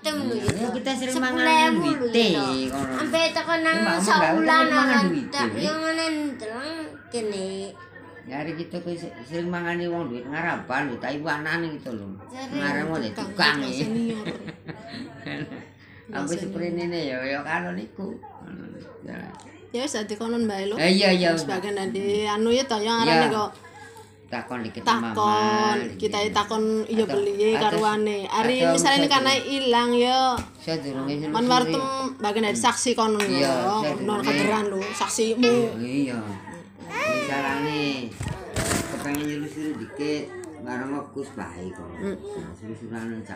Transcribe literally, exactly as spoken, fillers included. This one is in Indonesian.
item lho ya. Kita sering mangan duite kono. Sampai tekan nang saulan tak yo ngene ndeleng kene. Nyari kita ku sering mangani wong duit ngarapan lho, tak ibu anane gitu lho. Ngarep oleh tukang iki. Ampe seprene ya ya karo niku. Ya wis dadi konon bae lho. Iya iya. Sebagian nanti anu ya to yang arane kok takon dikit takon kita takon iya beli karuane hari misalnya ini karena hilang ya man wartem bagian dari saksi kono ya non kaderan lo saksimu iya misalnya kepengen nyelus dikit barang aku baik kok. Nah, suruh-suruhan